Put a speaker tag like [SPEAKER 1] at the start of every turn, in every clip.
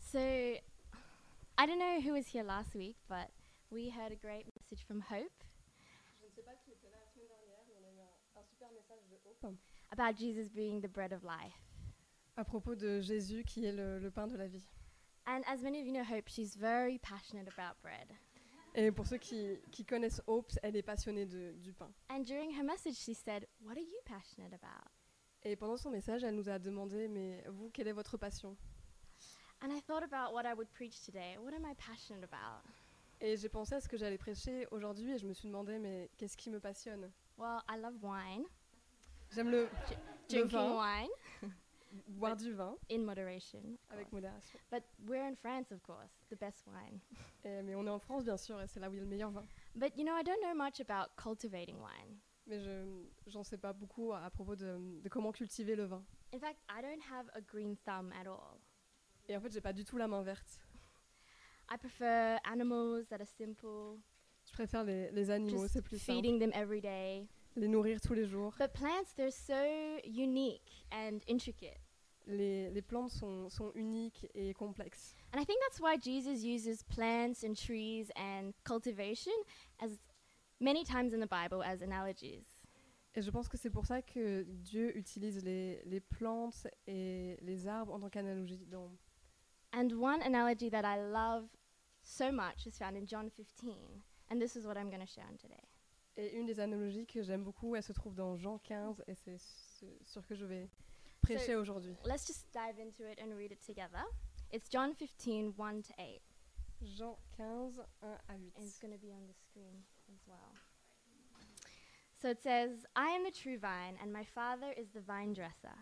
[SPEAKER 1] So, I don't know who was here last week, but we heard a great message from Hope
[SPEAKER 2] Je ne sais pas qui était là la semaine dernière, mais on a eu un super message de Hope
[SPEAKER 1] about Jesus being the bread of life.
[SPEAKER 2] à propos de Jésus qui est le pain de la vie.
[SPEAKER 1] And as many of you know, Hope, she's very passionate about bread.
[SPEAKER 2] Et pour ceux qui connaissent Hope, elle est passionnée du pain.
[SPEAKER 1] And during her message, she said, "What are you passionate about?"
[SPEAKER 2] Et pendant son message, elle nous a demandé, mais vous, quelle est votre passion ?
[SPEAKER 1] And I thought about what I would preach today. What am I passionate about?
[SPEAKER 2] Et j'ai pensé à ce que j'allais prêcher aujourd'hui et je me suis demandé, mais qu'est-ce qui me passionne ?
[SPEAKER 1] Well, I love wine,
[SPEAKER 2] J'aime le
[SPEAKER 1] drinking
[SPEAKER 2] vin,
[SPEAKER 1] wine
[SPEAKER 2] boire du vin
[SPEAKER 1] in moderation, of
[SPEAKER 2] avec
[SPEAKER 1] course.
[SPEAKER 2] modération.
[SPEAKER 1] But we're in France, of course, the best wine.
[SPEAKER 2] Mais on est en France, bien sûr, et c'est là où il y a le meilleur vin.
[SPEAKER 1] But you know, I don't know much about cultivating wine.
[SPEAKER 2] Mais j'en sais pas beaucoup à propos de comment cultiver le vin.
[SPEAKER 1] In fact, I don't have a green thumb at all.
[SPEAKER 2] Et en fait, j'ai pas du tout la main verte.
[SPEAKER 1] I prefer animals that are simple,
[SPEAKER 2] Je préfère les animaux,
[SPEAKER 1] just
[SPEAKER 2] c'est plus simple.
[SPEAKER 1] feeding them every day.
[SPEAKER 2] Les nourrir tous les jours.
[SPEAKER 1] But plants, they're so unique and intricate.
[SPEAKER 2] Les plantes sont uniques et complexes.
[SPEAKER 1] And I think that's why Jesus uses plants and trees and cultivation as many times in the Bible as analogies.
[SPEAKER 2] Et je pense que c'est pour ça que Dieu utilise les plantes et les arbres en tant qu'analogie.
[SPEAKER 1] And one analogy that I love so much is found in John 15. And this is what I'm going to share on today.
[SPEAKER 2] Et une des analogies que j'aime beaucoup, elle se trouve dans Jean 15, et c'est sur que je vais prêcher aujourd'hui.
[SPEAKER 1] Let's just dive into it and read it together. It's John 15, 1 to 8.
[SPEAKER 2] Jean 15, 1 à 8.
[SPEAKER 1] And it's going to be on the screen as well. So it says, "I am the true vine, and my Father is the vine dresser.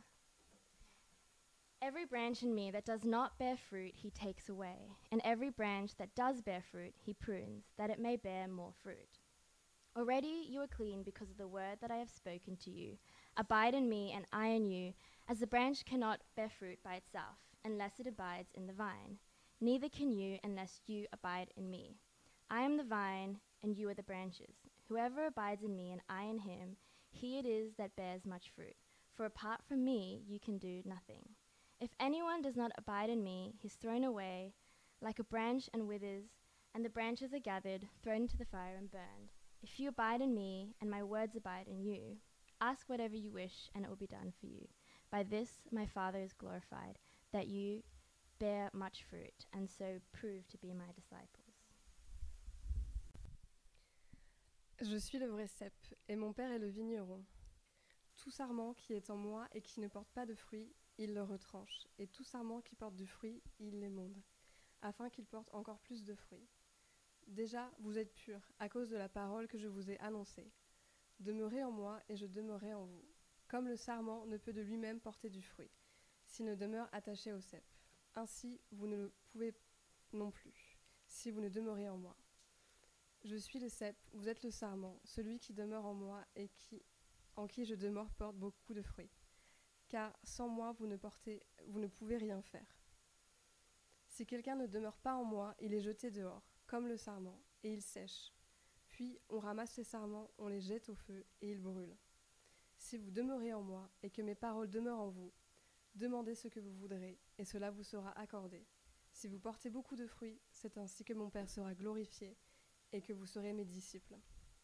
[SPEAKER 1] Every branch in me that does not bear fruit, he takes away. And every branch that does bear fruit, he prunes, that it may bear more fruit. Already you are clean because of the word that I have spoken to you. Abide in me, and I in you, as the branch cannot bear fruit by itself, unless it abides in the vine. Neither can you unless you abide in me. I am the vine, and you are the branches. Whoever abides in me, and I in him, he it is that bears much fruit. For apart from me, you can do nothing. If anyone does not abide in me, he is thrown away like a branch and withers, and the branches are gathered, thrown into the fire, and burned. If you abide in me, and my words abide in you, ask whatever you wish, and it will be done for you. By this my Father is glorified, that you bear much fruit, and so prove to be my disciples."
[SPEAKER 2] Je suis le vrai cep, et mon Père est le vigneron. Tout sarment qui est en moi et qui ne porte pas de fruits, il le retranche, et tout sarment qui porte du fruit, il l'émonde, afin qu'il porte encore plus de fruits. Déjà, vous êtes purs, à cause de la parole que je vous ai annoncée. Demeurez en moi, et je demeurerai en vous. Comme le sarment ne peut de lui-même porter du fruit, s'il ne demeure attaché au cep. Ainsi, vous ne le pouvez non plus, si vous ne demeurez en moi. Je suis le cep, vous êtes le sarment, celui qui demeure en moi et en qui je demeure porte beaucoup de fruits. Car sans moi, vous ne pouvez rien faire. Si quelqu'un ne demeure pas en moi, il est jeté dehors, comme le sarment, et il sèche. Puis on ramasse les sarments, on les jette au feu, et ils brûlent. Si vous demeurez en moi, et que mes paroles demeurent en vous, demandez ce que vous voudrez, et cela vous sera accordé. Si vous portez beaucoup de fruits, c'est ainsi que mon Père sera glorifié, et que vous serez mes disciples.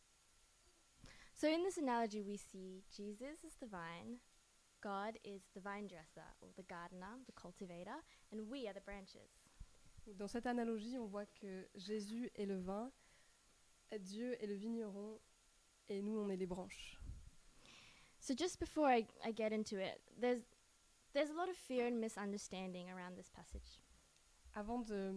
[SPEAKER 1] So in this analogy we see Jesus is the vine, God is the vine dresser, or the gardener, the cultivator, and we are the branches.
[SPEAKER 2] Dans cette analogie, on voit que Jésus est le vin, Dieu est le vigneron, et nous, on est les branches.
[SPEAKER 1] So just before I get into it, there's a lot of fear and misunderstanding around this passage.
[SPEAKER 2] Avant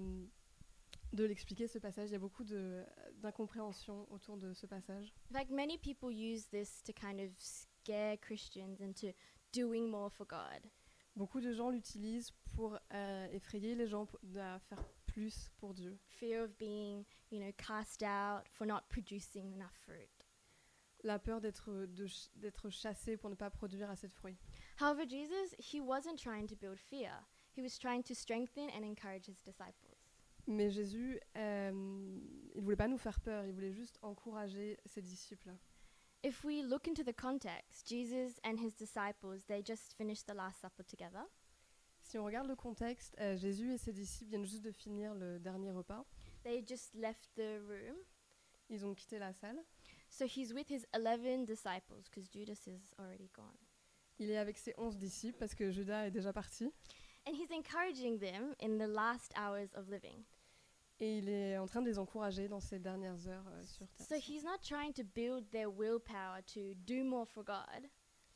[SPEAKER 2] de l'expliquer, ce passage, il y a beaucoup d'incompréhension autour de ce passage.
[SPEAKER 1] In fact, many people use this to kind of scare Christians into doing more for God.
[SPEAKER 2] Beaucoup de gens l'utilisent pour effrayer les gens à faire plus pour Dieu.
[SPEAKER 1] Fear of being, cast out for not producing enough fruit.
[SPEAKER 2] La peur d'être chassé pour ne pas produire assez de fruits.
[SPEAKER 1] However, Jesus, he wasn't trying to build fear. He was trying to strengthen and encourage his disciples.
[SPEAKER 2] Mais Jésus, il voulait pas nous faire peur, il voulait juste encourager ses disciples.
[SPEAKER 1] If we look into the context, Jesus and his disciples, they just finished the Last Supper together.
[SPEAKER 2] Si on regarde le contexte, Jésus et ses disciples viennent juste de finir le dernier repas.
[SPEAKER 1] They just left the room.
[SPEAKER 2] Ils ont quitté la salle.
[SPEAKER 1] So he's with his 11 disciples because Judas is already gone.
[SPEAKER 2] Il est avec ses 11 disciples parce que Judas est déjà parti.
[SPEAKER 1] And he's encouraging them in the last hours of living.
[SPEAKER 2] Et il est en train de les encourager dans ces dernières heures sur terre.
[SPEAKER 1] So he's not trying to build their willpower to do more for God.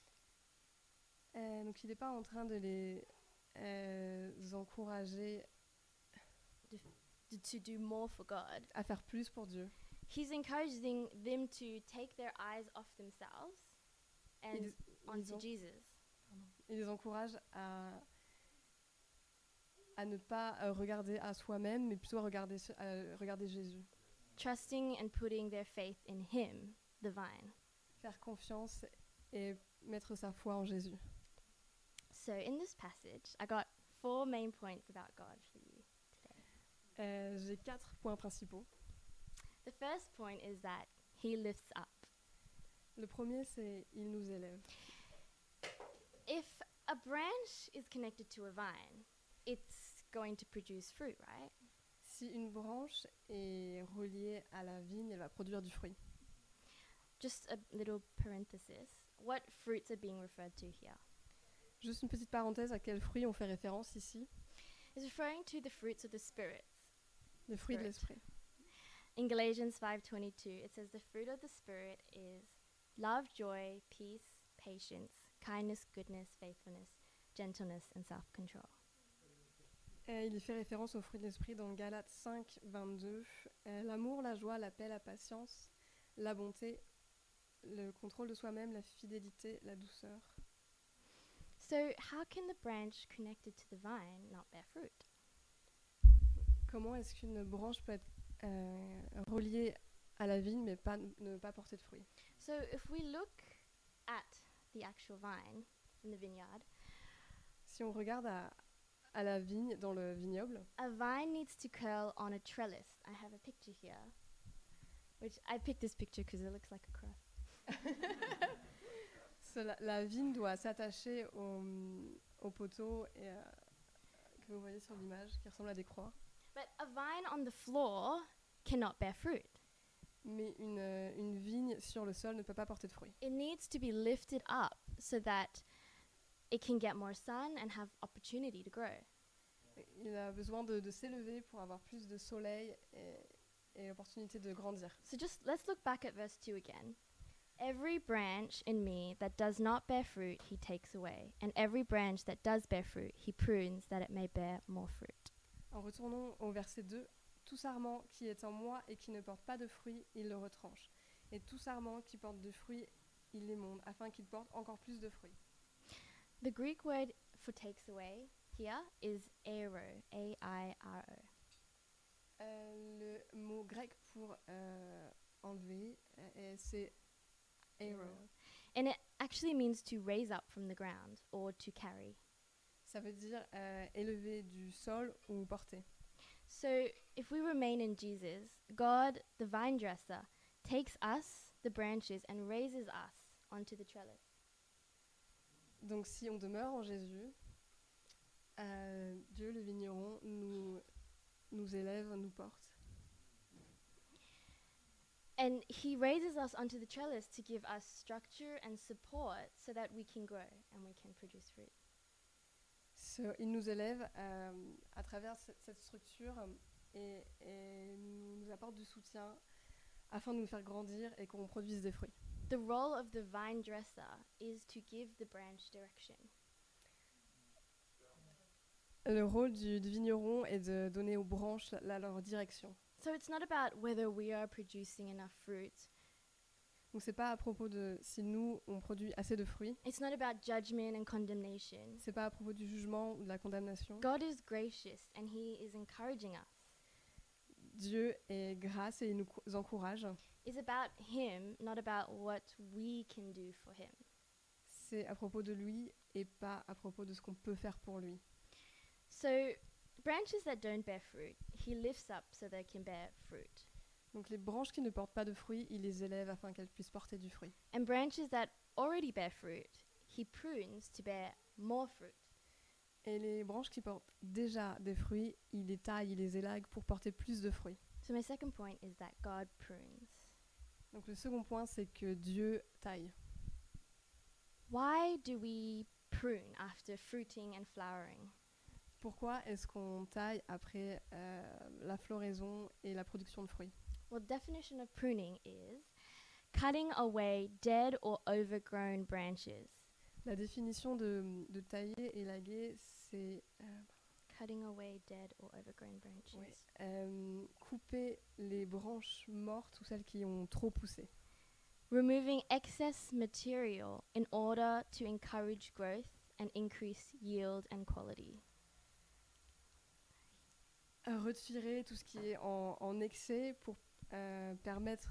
[SPEAKER 2] Donc il n'est pas en train de les encourager
[SPEAKER 1] To do more for God.
[SPEAKER 2] à faire plus pour Dieu.
[SPEAKER 1] He's encouraging them to take their eyes off themselves and onto Jesus.
[SPEAKER 2] Il les encourage à ne pas regarder à soi-même, mais plutôt à regarder Jésus.
[SPEAKER 1] Trusting and putting their faith in him, the vine.
[SPEAKER 2] Faire confiance et mettre sa foi en Jésus.
[SPEAKER 1] So in this passage, I got 4 main points about God for you today.
[SPEAKER 2] J'ai 4 points principaux.
[SPEAKER 1] The first point is that he lifts up.
[SPEAKER 2] Le premier, c'est « Il nous élève ».
[SPEAKER 1] If a branch is connected to a vine, it's going to produce fruit, right?
[SPEAKER 2] Si une branche est reliée à la vigne, elle va produire du fruit.
[SPEAKER 1] Just a little parenthesis. What fruits are being referred to here?
[SPEAKER 2] Juste une petite parenthèse, à quels fruits on fait référence ici?
[SPEAKER 1] It's referring to the fruits of the Spirit.
[SPEAKER 2] Les fruits de
[SPEAKER 1] Spirit.
[SPEAKER 2] l'esprit.
[SPEAKER 1] In Galatians 5:22, it says the fruit of the Spirit is love, joy, peace, patience, kindness, goodness, faithfulness, gentleness, and self-control.
[SPEAKER 2] Il y fait référence aux fruits de l'esprit dans Galates 5, 22. L'amour, la joie, la paix, la patience, la bonté, le contrôle de soi-même, la fidélité, la douceur.
[SPEAKER 1] So how can the branch connected to the vine not bear fruit?
[SPEAKER 2] Comment est-ce qu'une branche peut être reliée à la vigne mais ne pas porter de fruits?
[SPEAKER 1] So if we look at the actual vine in the vineyard,
[SPEAKER 2] Si on regarde à la vigne dans le vignoble,
[SPEAKER 1] a vine needs to curl on a trellis. I have a picture here, which I picked this picture because it looks like a cross.
[SPEAKER 2] la vigne doit s'attacher au poteau que vous voyez sur l'image qui ressemble à des croix.
[SPEAKER 1] But a vine on the floor cannot bear fruit.
[SPEAKER 2] Mais une vigne sur le sol ne peut pas porter de fruits.
[SPEAKER 1] It needs to be lifted up so that it can get more sun and have opportunity to grow.
[SPEAKER 2] Il a besoin de s'élever pour avoir plus de soleil et l'opportunité de grandir.
[SPEAKER 1] So just let's look back at verse 2 again. Every branch in me that does not bear fruit, he takes away. And every branch that does bear fruit, he prunes that it may bear more fruit.
[SPEAKER 2] En retournant au verset 2, tout sarment qui est en moi et qui ne porte pas de fruits, il le retranche. Et tout sarment qui porte de fruits, il l'émonde, afin qu'il porte encore plus de fruits.
[SPEAKER 1] The Greek word for takes away here is airo, A-I-R-O.
[SPEAKER 2] Le mot grec pour enlever, c'est airo.
[SPEAKER 1] And it actually means to raise up from the ground or to carry.
[SPEAKER 2] Ça veut dire élever du sol ou porter.
[SPEAKER 1] So if we remain in Jesus, God, the vine dresser, takes us, the branches, and raises us onto the trellis.
[SPEAKER 2] Donc si on demeure en Jésus, Dieu le vigneron nous élève, nous porte.
[SPEAKER 1] And he raises us onto the trellis to give us structure and support so that we can grow and we can produce fruit.
[SPEAKER 2] Il nous élève à travers cette structure et nous apporte du soutien afin de nous faire grandir et qu'on produise des fruits.
[SPEAKER 1] The role of the vine dresser is to give the branch direction.
[SPEAKER 2] Le rôle du vigneron est de donner aux branches leur direction.
[SPEAKER 1] So it's not about whether we are producing enough fruit.
[SPEAKER 2] Donc c'est pas à propos de si nous on produit assez de fruits.
[SPEAKER 1] It's not about judgment and condemnation.
[SPEAKER 2] C'est pas à propos du jugement ou de la condamnation.
[SPEAKER 1] God is gracious and he is encouraging us.
[SPEAKER 2] Dieu est grâce et il nous encourage.
[SPEAKER 1] It's about him, not about what we can do for him.
[SPEAKER 2] C'est à propos de lui et pas à propos de ce qu'on peut faire pour lui.
[SPEAKER 1] So branches that don't bear fruit, he lifts up so they can bear fruit.
[SPEAKER 2] Donc les branches qui ne portent pas de fruits, il les élève afin qu'elles puissent porter du fruit.
[SPEAKER 1] And branches that already bear fruit, he prunes to bear more fruit.
[SPEAKER 2] Et les branches qui portent déjà des fruits, il les taille, il les élague pour porter plus de fruits.
[SPEAKER 1] So my second point is that God prunes.
[SPEAKER 2] Donc le second point, c'est que Dieu taille.
[SPEAKER 1] Why do we prune after fruiting and flowering?
[SPEAKER 2] Pourquoi est-ce qu'on taille après la floraison et la production de fruits?
[SPEAKER 1] Well, the definition of pruning is cutting away dead or overgrown branches.
[SPEAKER 2] La définition de tailler, élaguer, c'est
[SPEAKER 1] Cutting away dead or overgrown branches.
[SPEAKER 2] couper les branches mortes ou celles qui ont trop poussé.
[SPEAKER 1] Removing excess material in order to encourage growth and increase yield and quality.
[SPEAKER 2] Retirer tout ce qui est en excès pour permettre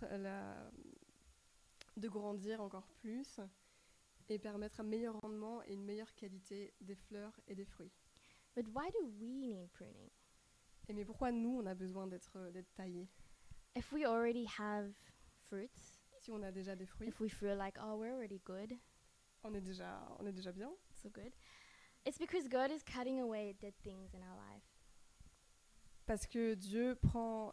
[SPEAKER 2] de grandir encore plus et permettre un meilleur rendement et une meilleure qualité des fleurs et des fruits.
[SPEAKER 1] But why do we need pruning?
[SPEAKER 2] Mais pourquoi nous, on a besoin d'être taillés?
[SPEAKER 1] If we already have fruits,
[SPEAKER 2] Si on a déjà des fruits,
[SPEAKER 1] if we feel like, oh, we're already good,
[SPEAKER 2] on est déjà bien.
[SPEAKER 1] so good, it's because God is cutting away dead things in our life.
[SPEAKER 2] Parce que Dieu prend,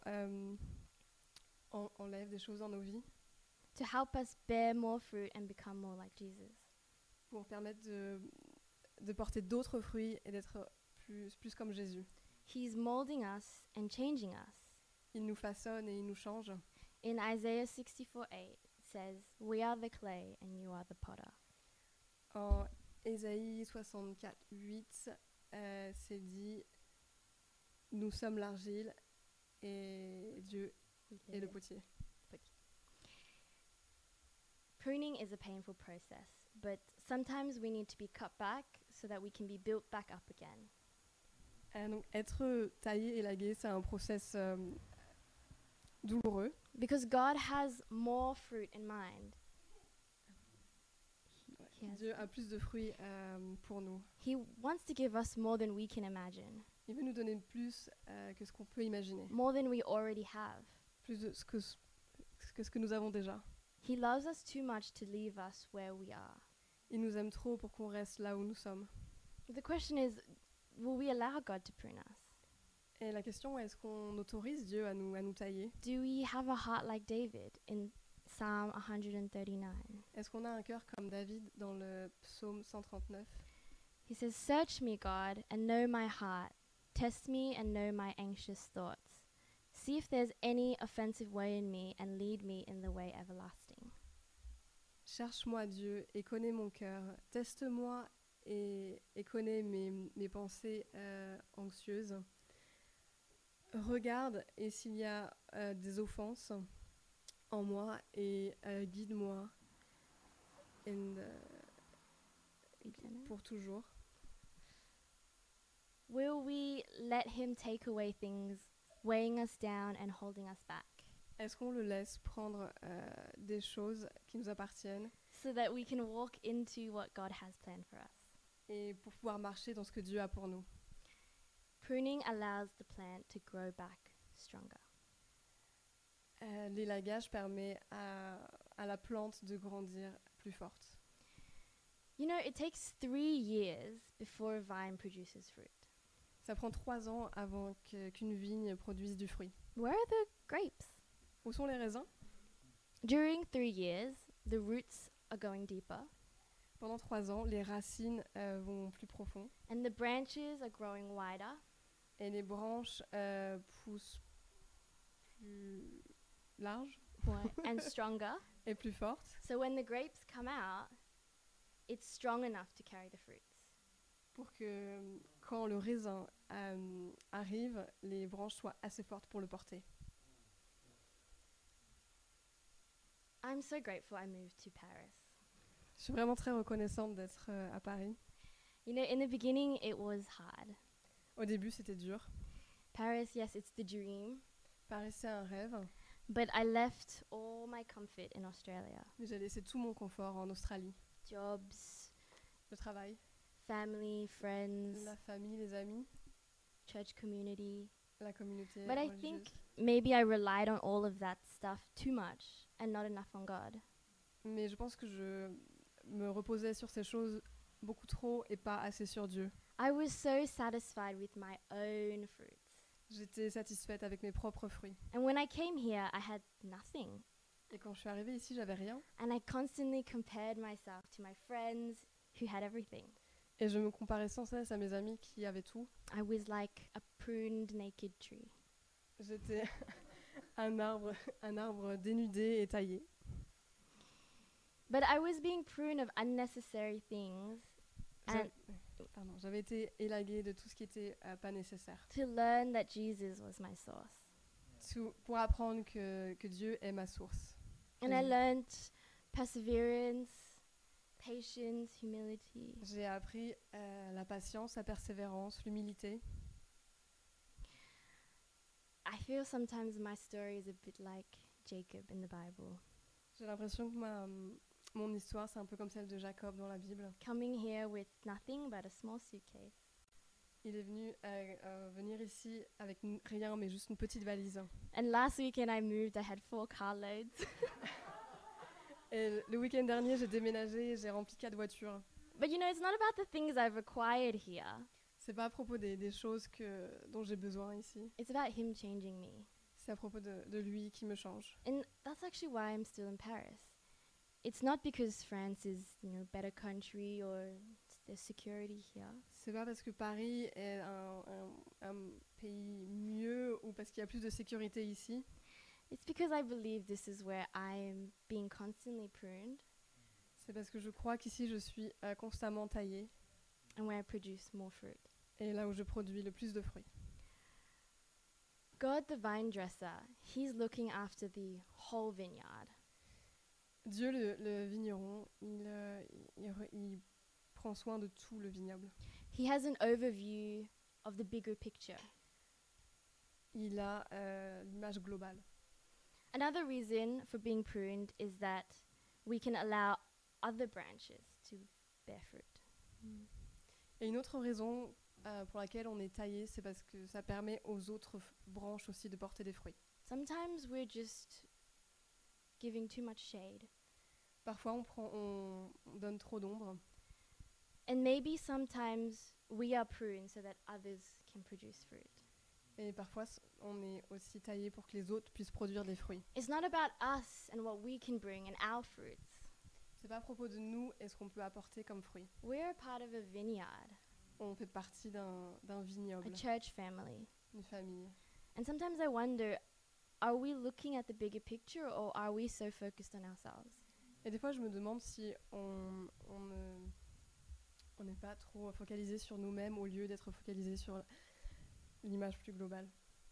[SPEAKER 2] enlève des choses dans nos vies
[SPEAKER 1] To help us bear more fruit and become more like Jesus.
[SPEAKER 2] pour permettre de porter d'autres fruits et d'être plus comme Jésus.
[SPEAKER 1] He's molding us and changing us.
[SPEAKER 2] Il nous façonne et il nous change.
[SPEAKER 1] In Isaiah 64:8, it says, "We are the clay and you are the potter."
[SPEAKER 2] En Ésaïe 64, 8, c'est dit « Nous sommes l'argile et Dieu est le potier ».
[SPEAKER 1] Pruning is a painful process, but sometimes we need to be cut back so that we can be built back up again.
[SPEAKER 2] Donc être taillé, élagué, c'est un process douloureux.
[SPEAKER 1] Because God has more fruit in mind.
[SPEAKER 2] Dieu a plus de fruits pour nous.
[SPEAKER 1] He wants to give us more than we can imagine,
[SPEAKER 2] Il veut nous donner plus que ce qu'on peut imaginer,
[SPEAKER 1] more than we already have.
[SPEAKER 2] plus de ce que nous avons déjà.
[SPEAKER 1] He loves us too much to leave us where we are.
[SPEAKER 2] Il nous aime trop pour qu'on reste là où nous sommes.
[SPEAKER 1] The question is, will we allow God to prune us?
[SPEAKER 2] Et la question est, est-ce qu'on autorise Dieu à nous tailler?
[SPEAKER 1] Do we have a heart like David in Psalm 139?
[SPEAKER 2] Est-ce qu'on a un cœur comme David dans le psaume 139?
[SPEAKER 1] He says, "Search me, God, and know my heart. Test me and know my anxious thoughts. See if there's any offensive way in me and lead me in the way everlasting."
[SPEAKER 2] Cherche-moi Dieu et connais mon cœur. Teste-moi et connais mes pensées anxieuses. Regarde et s'il y a des offenses en moi et guide-moi pour toujours.
[SPEAKER 1] Will we let him take away things weighing us down and holding us back
[SPEAKER 2] Est-ce qu'on le laisse prendre des choses qui nous appartiennent
[SPEAKER 1] so that we can walk into what God has planned for us?
[SPEAKER 2] et pour pouvoir marcher dans ce que Dieu a pour nous?
[SPEAKER 1] Pruning allows the plant to grow back stronger.
[SPEAKER 2] L'élagage permet à la plante de grandir plus forte.
[SPEAKER 1] You know, it takes 3 years before a vine produces fruit.
[SPEAKER 2] Ça prend 3 ans avant qu'une vigne produise du fruit.
[SPEAKER 1] Where are the grapes?
[SPEAKER 2] Où sont les raisins?
[SPEAKER 1] During 3 years, the roots are going deeper
[SPEAKER 2] Pendant 3 ans, les racines vont plus profond
[SPEAKER 1] and the branches are growing wider.
[SPEAKER 2] et les branches poussent plus larges
[SPEAKER 1] And stronger.
[SPEAKER 2] et plus fortes.
[SPEAKER 1] So when the grapes come out, it's strong enough to carry the fruits.
[SPEAKER 2] Pour que quand le raisin arrive, les branches soient assez fortes pour le porter.
[SPEAKER 1] I'm so grateful I moved to Paris.
[SPEAKER 2] Je suis vraiment très reconnaissante d'être à Paris.
[SPEAKER 1] You know, in the beginning, it was hard.
[SPEAKER 2] Au début, c'était dur.
[SPEAKER 1] Paris, yes, it's the dream.
[SPEAKER 2] Paris, c'est un rêve.
[SPEAKER 1] But I left all my comfort in Australia.
[SPEAKER 2] Mais j'ai laissé tout mon confort en Australie.
[SPEAKER 1] Jobs,
[SPEAKER 2] Le travail,
[SPEAKER 1] family, friends,
[SPEAKER 2] la famille, les amis,
[SPEAKER 1] church community.
[SPEAKER 2] la communauté
[SPEAKER 1] But I
[SPEAKER 2] religieuse.
[SPEAKER 1] think maybe I relied on all of that stuff too much and not enough on God.
[SPEAKER 2] Mais je pense que je me reposais sur ces choses beaucoup trop et pas assez sur Dieu.
[SPEAKER 1] I was so satisfied with my own fruits.
[SPEAKER 2] J'étais satisfaite avec mes propres fruits.
[SPEAKER 1] And when I came here, I had nothing.
[SPEAKER 2] Et quand je suis arrivée ici, j'avais rien.
[SPEAKER 1] And I constantly compared myself to my friends who had everything.
[SPEAKER 2] Et je me comparais sans cesse à mes amis qui avaient tout.
[SPEAKER 1] I was like a pruned naked tree.
[SPEAKER 2] J'étais un arbre dénudé et taillé.
[SPEAKER 1] But I was being pruned of unnecessary things and
[SPEAKER 2] J'avais été élaguée de tout ce qui était pas nécessaire.
[SPEAKER 1] to learn that Jesus was my source.
[SPEAKER 2] Pour apprendre que Dieu est ma source.
[SPEAKER 1] And I learned perseverance, patience, humility.
[SPEAKER 2] J'ai appris la patience, la persévérance, l'humilité.
[SPEAKER 1] I feel sometimes my story is a bit like Jacob in the Bible.
[SPEAKER 2] J'ai l'impression que mon histoire, c'est un peu comme celle de Jacob dans la Bible.
[SPEAKER 1] Coming here with nothing but a small suitcase.
[SPEAKER 2] Il est venu venir ici avec rien, mais juste une petite valise.
[SPEAKER 1] And last weekend I moved, I had 4 carloads.
[SPEAKER 2] Et le week-end dernier, j'ai déménagé et j'ai rempli 4 voitures.
[SPEAKER 1] But you know, it's not about the things I've acquired here.
[SPEAKER 2] C'est pas à propos des choses dont j'ai besoin ici.
[SPEAKER 1] It's about him changing me.
[SPEAKER 2] C'est à propos de lui qui me change.
[SPEAKER 1] And that's actually why I'm still in Paris. It's not because France is, you know, a better country or there's security here.
[SPEAKER 2] C'est pas parce que Paris est un pays mieux ou parce qu'il y a plus de sécurité ici.
[SPEAKER 1] It's because I believe this is where I'm being constantly pruned
[SPEAKER 2] C'est parce que je crois qu'ici je suis constamment taillée
[SPEAKER 1] and where I produce more fruit.
[SPEAKER 2] et là où je produis le plus de fruits.
[SPEAKER 1] God, the vine dresser, he's looking after the whole vineyard.
[SPEAKER 2] Dieu, le vigneron, il prend soin de tout le vignoble.
[SPEAKER 1] He has an overview of the bigger picture.
[SPEAKER 2] Il a l'image globale.
[SPEAKER 1] Another reason for being pruned is that we can allow other branches to bear fruit.
[SPEAKER 2] Et une autre raison pour laquelle on est taillé, c'est parce que ça permet aux autres branches aussi de porter des fruits.
[SPEAKER 1] Sometimes we're just giving too much shade.
[SPEAKER 2] Parfois, on donne trop d'ombre.
[SPEAKER 1] And maybe sometimes we are pruned so that others can produce fruit.
[SPEAKER 2] Et parfois, on est aussi taillé pour que les autres puissent produire des fruits.
[SPEAKER 1] It's not about us and what we can bring and our fruits.
[SPEAKER 2] C'est pas à propos de nous et ce qu'on peut apporter comme fruits.
[SPEAKER 1] We're a part of a vineyard,
[SPEAKER 2] On fait partie d'un vignoble,
[SPEAKER 1] a church family.
[SPEAKER 2] une famille.
[SPEAKER 1] And sometimes I wonder, are we looking at the bigger picture or are we so focused on ourselves?
[SPEAKER 2] Et des fois, je me demande si on n'est pas trop focalisé sur nous-mêmes au lieu d'être focalisé sur l'image plus globale.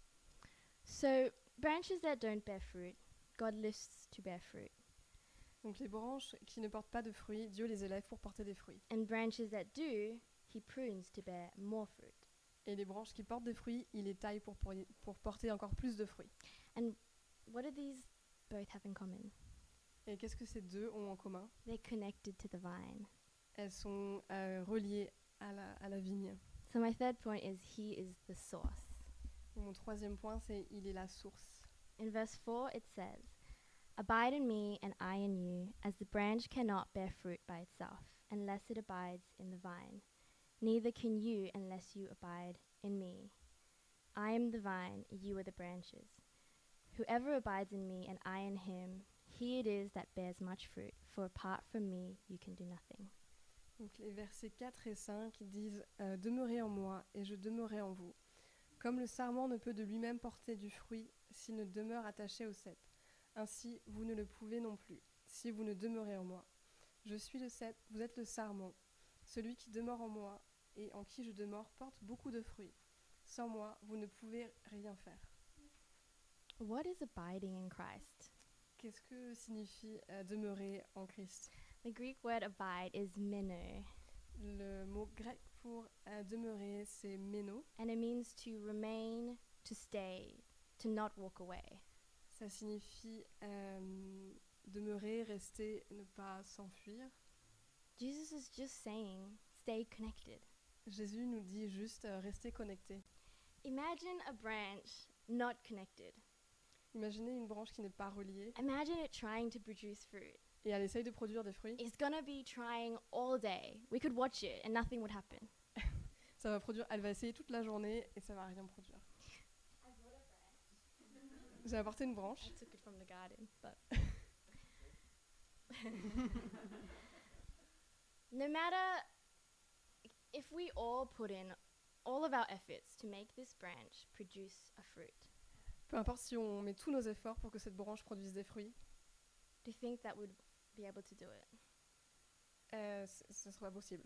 [SPEAKER 1] So, branches that don't bear fruit, God lifts to bear fruit.
[SPEAKER 2] Donc les branches qui ne portent pas de fruits, Dieu les élève pour porter des fruits.
[SPEAKER 1] And branches that do, he prunes to bear more fruit.
[SPEAKER 2] Et les branches qui portent des fruits, il les taille pour porter encore plus de fruits.
[SPEAKER 1] And what do these both have in common?
[SPEAKER 2] Et qu'est-ce que ces deux ont en commun?
[SPEAKER 1] They're connected to the vine.
[SPEAKER 2] Elles sont reliées à la vigne.
[SPEAKER 1] So my third point is he is the source.
[SPEAKER 2] Mon troisième point, c'est il est la source.
[SPEAKER 1] In verse 4 it says, "Abide in me and I in you, as the branch cannot bear fruit by itself, unless it abides in the vine. Neither can you unless you abide in me. I am the vine, you are the branches. Whoever abides in me and I in him, he it is that bears much fruit, for apart from me you can do nothing."
[SPEAKER 2] Donc les versets 4 et 5 disent « Demeurez en moi et je demeurerai en vous. Comme le sarment ne peut de lui-même porter du fruit s'il ne demeure attaché au cep. Ainsi, vous ne le pouvez non plus, si vous ne demeurez en moi. Je suis le cep, vous êtes le sarment. Celui qui demeure en moi et en qui je demeure porte beaucoup de fruits. Sans moi, vous ne pouvez rien faire. »
[SPEAKER 1] What is abiding in Christ?
[SPEAKER 2] Qu'est-ce que signifie demeurer en Christ?
[SPEAKER 1] The Greek word abide is meno,
[SPEAKER 2] Le mot grec pour demeurer, c'est méno.
[SPEAKER 1] and it means to remain, to stay, to not walk away.
[SPEAKER 2] Ça signifie demeurer, rester, ne pas s'enfuir.
[SPEAKER 1] Jesus is just saying, stay connected.
[SPEAKER 2] Jésus nous dit juste rester connecté.
[SPEAKER 1] Imagine a branch not connected.
[SPEAKER 2] Imaginez une branche qui n'est pas reliée
[SPEAKER 1] Imagine it trying to produce fruit.
[SPEAKER 2] et elle essaye de produire des fruits.
[SPEAKER 1] It's gonna be trying all day. We could watch it and nothing would happen.
[SPEAKER 2] Ça va produire. Elle va essayer toute la journée et ça va rien produire. J'ai apporté une branche.
[SPEAKER 1] I took it from the garden, but no matter if we all put in all of our efforts to make this branch produce a fruit,
[SPEAKER 2] Peu importe si on met tous nos efforts pour que cette branche produise des fruits,
[SPEAKER 1] do you think that would be able to do it?
[SPEAKER 2] ce sera pas possible.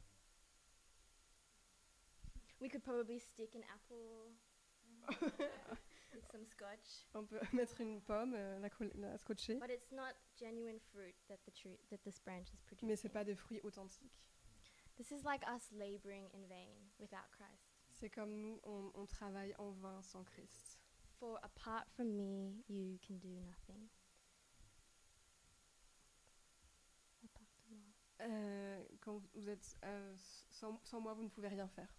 [SPEAKER 1] We could probably stick an apple with some scotch,
[SPEAKER 2] On peut mettre une pomme, la scotcher,
[SPEAKER 1] but it's not genuine fruit that this branch is producing.
[SPEAKER 2] mais c'est pas des fruits authentiques.
[SPEAKER 1] This is like us laboring in vain without Christ.
[SPEAKER 2] C'est comme nous, on travaille en vain sans Christ.
[SPEAKER 1] For apart from me, you can do nothing. Apart de moi.
[SPEAKER 2] Quand vous êtes sans moi, vous ne pouvez rien faire.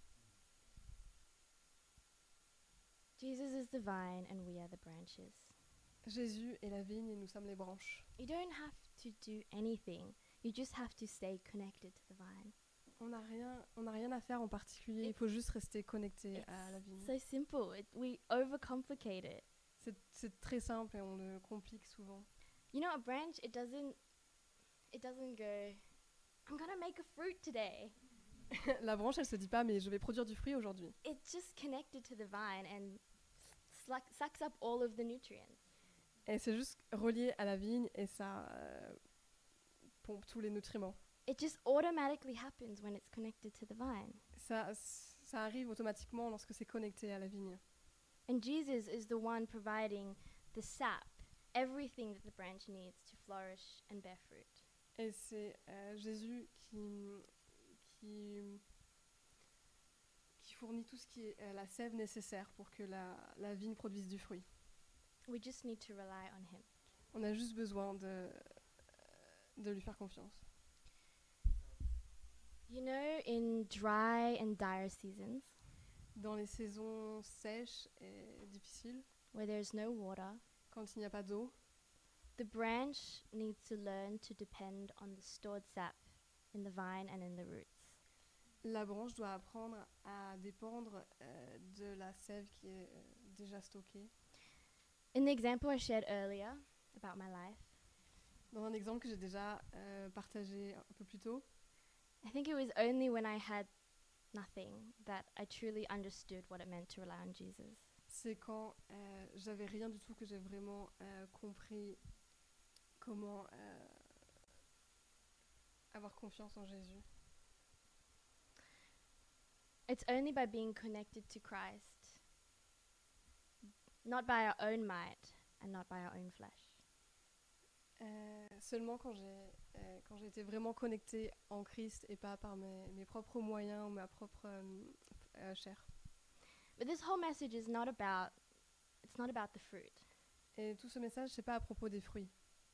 [SPEAKER 1] Jesus is the vine and we are the branches.
[SPEAKER 2] Jésus est la vigne et nous sommes les branches.
[SPEAKER 1] You don't have to do anything. You just have to stay connected to the vine.
[SPEAKER 2] On n'a rien à faire en particulier. Il faut juste rester connecté à la vigne.
[SPEAKER 1] So simple. We overcomplicate it.
[SPEAKER 2] C'est très simple et on le complique souvent.
[SPEAKER 1] You know, a branch, it doesn't go, I'm gonna make a fruit today.
[SPEAKER 2] La branche, elle se dit pas, mais je vais produire du fruit aujourd'hui.
[SPEAKER 1] It's just connected to the vine and sucks up all of the nutrients.
[SPEAKER 2] Et c'est juste relié à la vigne et ça pompe tous les nutriments.
[SPEAKER 1] It just automatically happens when it's connected to the vine.
[SPEAKER 2] Ça arrive automatiquement lorsque c'est connecté à la vigne.
[SPEAKER 1] And Jesus is the one providing the sap, everything that the branch needs to flourish and bear fruit.
[SPEAKER 2] Et c'est Jésus qui fournit tout ce qui est la sève nécessaire pour que la vigne produise du fruit.
[SPEAKER 1] We just need to rely on him.
[SPEAKER 2] On a juste besoin de lui faire confiance.
[SPEAKER 1] You know, in dry and dire seasons,
[SPEAKER 2] Dans les saisons sèches et difficiles,
[SPEAKER 1] where there's no water,
[SPEAKER 2] quand il n'y a pas d'eau,
[SPEAKER 1] the branch needs to learn to depend on the stored sap in the vine and in the roots.
[SPEAKER 2] la branche doit apprendre à dépendre de la sève qui est déjà stockée.
[SPEAKER 1] In the example I shared earlier about my life,
[SPEAKER 2] Dans un exemple que j'ai déjà partagé un peu plus tôt,
[SPEAKER 1] I think it was only when I had nothing that I truly understood what it meant to rely on Jesus.
[SPEAKER 2] c'est quand j'avais rien du tout que j'ai vraiment compris comment avoir confiance en Jésus.
[SPEAKER 1] It's only by being connected to Christ, not by our own might and not by our own flesh.
[SPEAKER 2] Seulement quand j'ai été vraiment connectée en Christ et pas par mes propres moyens ou ma propre chair.
[SPEAKER 1] But this whole message is not about the fruit.
[SPEAKER 2] Et tout ce message, c'est pas à propos des fruits.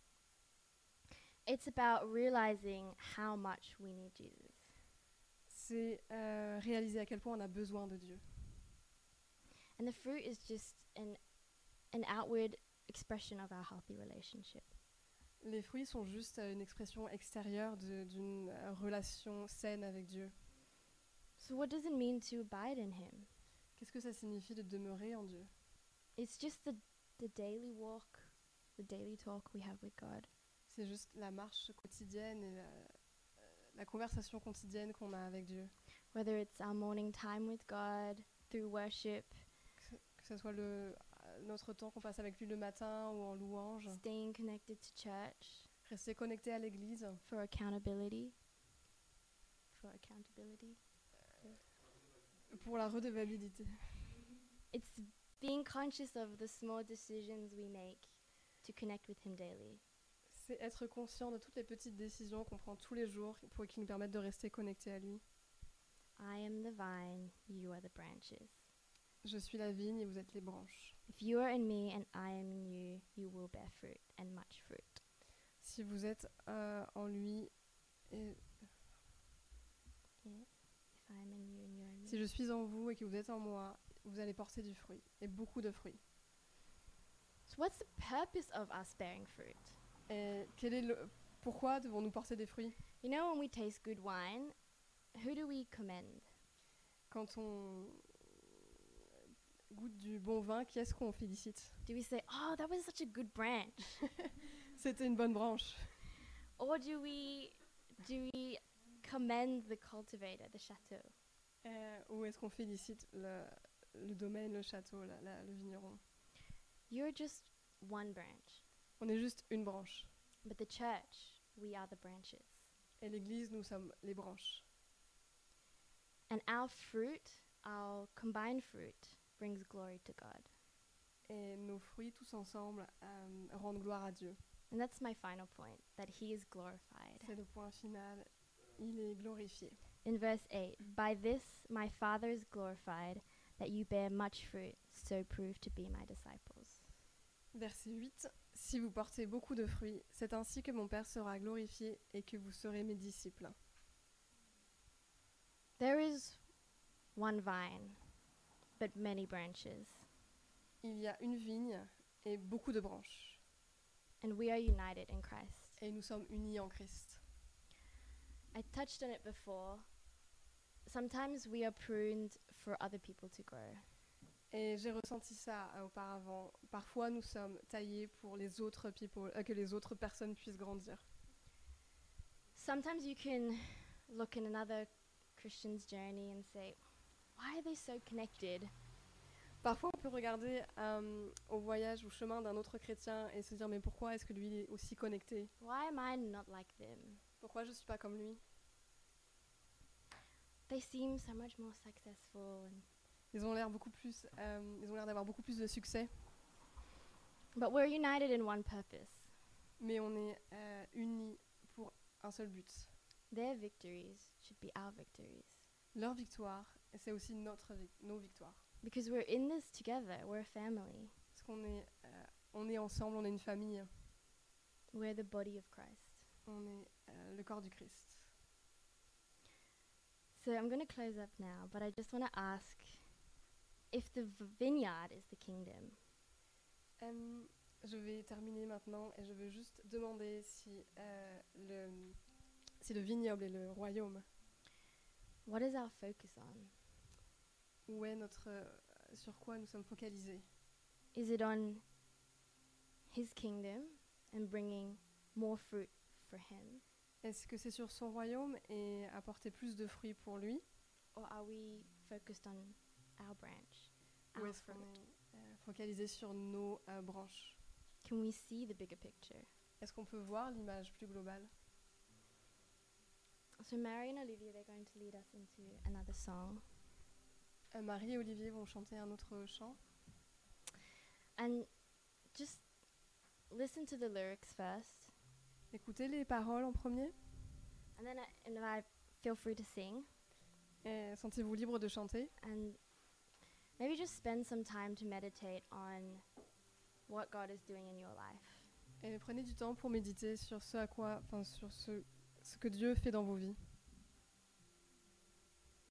[SPEAKER 1] It's about realizing how much we need Jesus.
[SPEAKER 2] C'est réaliser à quel point on a besoin de Dieu.
[SPEAKER 1] And the fruit is just an outward expression of our healthy relationship.
[SPEAKER 2] Les fruits sont juste une expression extérieure d'une relation saine avec Dieu.
[SPEAKER 1] So what does it mean to abide in him?
[SPEAKER 2] Qu'est-ce que ça signifie de demeurer en Dieu?
[SPEAKER 1] It's just the daily walk, the daily talk we have with God.
[SPEAKER 2] C'est juste la marche quotidienne et la conversation quotidienne qu'on a avec Dieu.
[SPEAKER 1] Whether it's our morning time with God through worship,
[SPEAKER 2] Que ce soit notre temps qu'on passe avec lui le matin ou en louange.
[SPEAKER 1] staying connected to church
[SPEAKER 2] Rester connecté à l'église
[SPEAKER 1] for accountability.
[SPEAKER 2] pour la redevabilité.
[SPEAKER 1] It's being conscious of the small decisions we make to connect with him daily.
[SPEAKER 2] C'est être conscient de toutes les petites décisions qu'on prend tous les jours pour qui nous permettent de rester connectés à lui.
[SPEAKER 1] I am the vine, you are the branches.
[SPEAKER 2] Je suis la vigne et vous êtes les branches.
[SPEAKER 1] If you are in me and I am in you, you will bear fruit and much fruit.
[SPEAKER 2] Si vous êtes en lui et
[SPEAKER 1] Yeah. If I am in you and you are in me.
[SPEAKER 2] si je suis en vous et que vous êtes en moi, vous allez porter du fruit et beaucoup de fruits.
[SPEAKER 1] So what's the purpose of us bearing fruit?
[SPEAKER 2] Et pourquoi devons-nous porter des fruits?
[SPEAKER 1] You know, when we taste good wine, who do we commend?
[SPEAKER 2] Quand on goûte du bon vin, qui est-ce qu'on félicite?
[SPEAKER 1] Do we say, "Oh, that was such a good branch,"
[SPEAKER 2] C'était une bonne branche.
[SPEAKER 1] or do we commend the cultivator, the château?
[SPEAKER 2] Ou est-ce qu'on félicite le domaine, le château, le vigneron?
[SPEAKER 1] You're just one branch,
[SPEAKER 2] On est juste une branche.
[SPEAKER 1] but the church, we are the branches.
[SPEAKER 2] Et l'Église, nous sommes les branches.
[SPEAKER 1] And our fruit, our combined fruit, brings glory to God.
[SPEAKER 2] Et nos fruits, tous ensemble, rendent gloire à Dieu.
[SPEAKER 1] And that's my final point, that he is glorified.
[SPEAKER 2] C'est le point final. Il est glorifié.
[SPEAKER 1] In verse 8, "By this my Father is glorified, that you bear much fruit, so prove to be my disciples."
[SPEAKER 2] Verset 8. Si vous portez beaucoup de fruits, c'est ainsi que mon Père sera glorifié et que vous serez mes disciples.
[SPEAKER 1] There is one vine, but many branches,
[SPEAKER 2] Il y a une vigne et beaucoup de branches.
[SPEAKER 1] and we are united in Christ.
[SPEAKER 2] Et nous sommes unis en Christ.
[SPEAKER 1] I touched on it before. Sometimes we are pruned for other people to grow.
[SPEAKER 2] Et j'ai ressenti ça auparavant. Parfois, nous sommes taillés pour les autres people, que les autres personnes puissent grandir.
[SPEAKER 1] Sometimes you can look in another Christian's journey and say, "Why are they so connected?
[SPEAKER 2] Parfois, on peut regarder au voyage, au chemin d'un autre chrétien et se dire mais pourquoi est-ce que lui est aussi connecté?
[SPEAKER 1] Why am I not like them?
[SPEAKER 2] Pourquoi je ne suis pas comme lui?
[SPEAKER 1] They seem so much more successful."
[SPEAKER 2] Ils ont l'air d'avoir beaucoup plus de succès,
[SPEAKER 1] But we're united in one purpose.
[SPEAKER 2] mais on est unis pour un seul but.
[SPEAKER 1] Their victories should be our victories.
[SPEAKER 2] Leur victoire, et c'est aussi nos victoires.
[SPEAKER 1] Because we're in this together. We're a family.
[SPEAKER 2] Parce qu'on est, on est ensemble, on est une famille,
[SPEAKER 1] We're the body of Christ.
[SPEAKER 2] on est le corps du Christ.
[SPEAKER 1] So I'm going to close up now, but I just want to ask if the vineyard is the kingdom,
[SPEAKER 2] Je vais terminer maintenant et je veux juste demander si le vignoble est le royaume.
[SPEAKER 1] what is our focus on?
[SPEAKER 2] Où est sur quoi nous sommes focalisés?
[SPEAKER 1] Is it on his kingdom and bringing more fruit for him?
[SPEAKER 2] Est-ce que c'est sur son royaume et apporter plus de fruits pour lui?
[SPEAKER 1] Or are we focused on our branch,
[SPEAKER 2] Ou
[SPEAKER 1] our
[SPEAKER 2] est-ce qu'on
[SPEAKER 1] fruit?
[SPEAKER 2] est focalisé sur nos branches?
[SPEAKER 1] Can we see the bigger picture?
[SPEAKER 2] Est-ce qu'on peut voir l'image plus globale?
[SPEAKER 1] So Mary and Olivia, they're going to lead us into another song.
[SPEAKER 2] Marie et Olivier vont chanter un autre chant.
[SPEAKER 1] And just listen to the lyrics first,
[SPEAKER 2] Écoutez les paroles en premier
[SPEAKER 1] and then I feel free to sing,
[SPEAKER 2] et sentez-vous libre de chanter.
[SPEAKER 1] and maybe just spend some time to meditate on what God is doing in your life.
[SPEAKER 2] Et prenez du temps pour méditer sur sur ce que Dieu fait dans vos vies.